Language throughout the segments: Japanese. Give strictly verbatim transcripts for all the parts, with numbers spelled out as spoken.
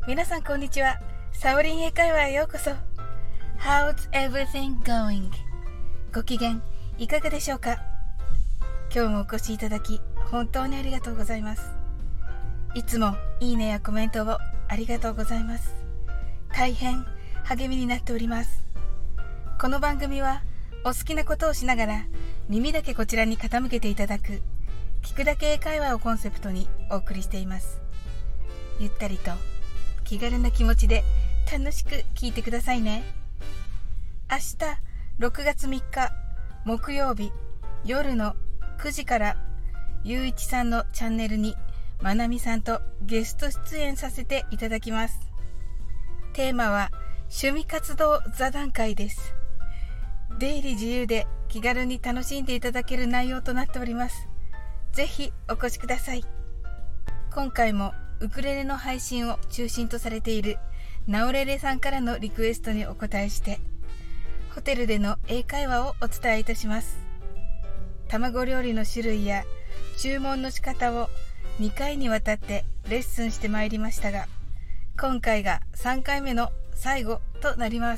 皆さんこんにちは。サオリン英会話へようこそ。 How's everything going? ご機嫌いかがでしょうか。今日もお越しいただき本当にありがとうございます。いつもいいねやコメントをありがとうございます。大変励みになっております。この番組はお好きなことをしながら耳だけこちらに傾けていただく聞くだけ英会話をコンセプトにお送りしています。ゆったりと気軽な気持ちで楽しく聞いてくださいね。明日ろくがつみっか木曜日夜のくじからゆういちさんのチャンネルにまなみさんとゲスト出演させていただきます。テーマは趣味活動座談会です。出入り自由で気軽に楽しんでいただける内容となっております。ぜひお越しください。今回もウクレレの配信を中心とされているナオレレさんからのリクエストにお答えしてホテルでの英会話をお伝えいたします。卵料理の種類や注文の仕方をにかいにわたってレッスンしてまいりましたが、今回がさんかいめの最後となります。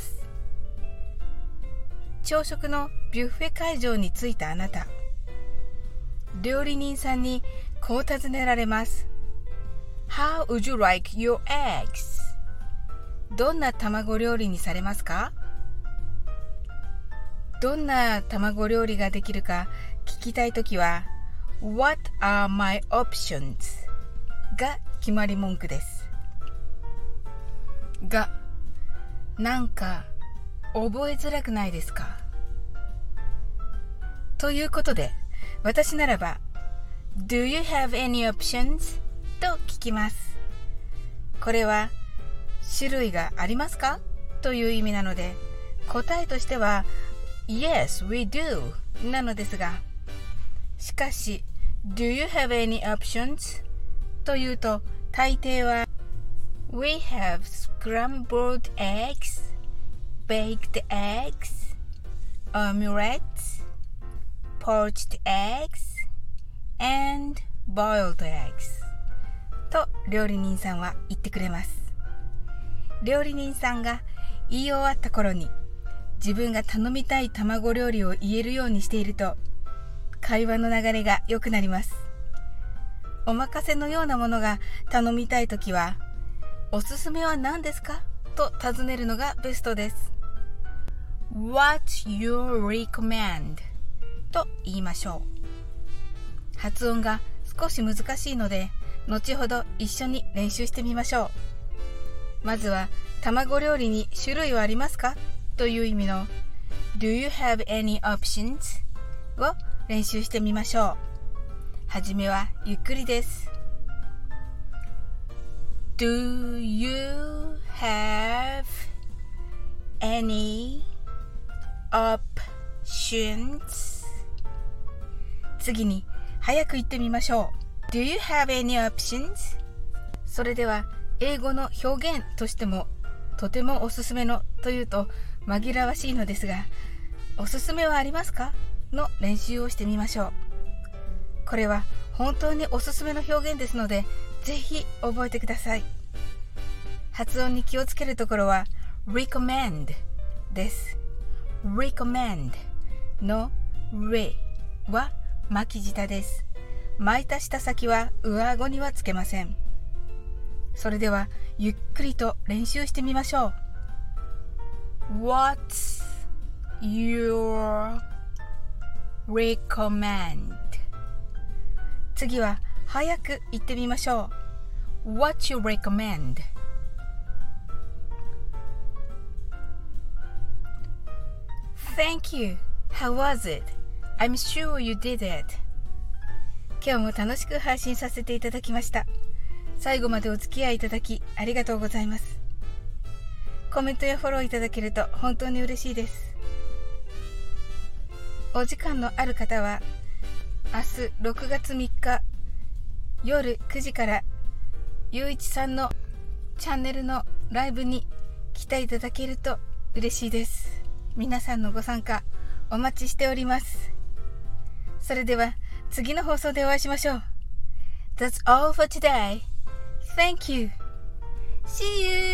朝食のビュッフェ会場に着いたあなた、料理人さんにこう尋ねられます。 How would you like your eggs? どんな卵料理にされますか？どんな卵料理ができるか聞きたいときは What are my options? が決まり文句です。が、なんか覚えづらくないですか？ということで、私ならば Do you have any options? と聞きます。これは種類がありますかという意味なので、答えとしては Yes, we do なのですが、しかし Do you have any options? というと大抵は We have scrambled eggs, baked eggs, omelets, poached eggs, and boiled eggs と料理人さんは言ってくれます。料理人さんが言い終わった頃に自分が頼みたい卵料理を言えるようにしていると会話の流れが良くなります。お任せのようなものが頼みたいときはおすすめは何ですかと尋ねるのがベストです。 What's your recommend? と言いましょう。発音が少し難しいので後ほど一緒に練習してみましょう。まずは卵料理に種類はありますかという意味の Do you have any options? を練習してみましょう。はじめはゆっくりです。 Do you have any options? 次に早く言ってみましょう。 Do you have any options? それでは英語の表現としてもとてもおすすめのというと紛らわしいのですが、おすすめはありますかの練習をしてみましょう。これは本当におすすめの表現ですのでぜひ覚えてください。発音に気をつけるところは recommend です。 recommend の re は巻き舌です。巻いた舌先は上顎にはつけません。それではゆっくりと練習してみましょう。 What's your recommend? 次は早く言ってみましょう。 What's your recommend? Thank you. How was it? I'm sure you did it. 今日も楽しく配信させていただきました。最後までお付き合いいただきありがとうございます。コメントやフォローいただけると本当に嬉しいです。お時間のある方は明日ろくがつみっか夜くじからゆういちさんのチャンネルのライブに来ていただけると嬉しいです。皆さんのご参加お待ちしております。それでは次の放送でお会いしましょう。That's all for today. Thank you. See you!